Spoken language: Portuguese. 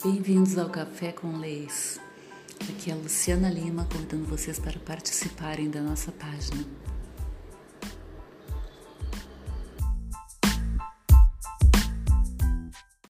Bem-vindos ao Café com Leis. Aqui é a Luciana Lima convidando vocês para participarem da nossa página.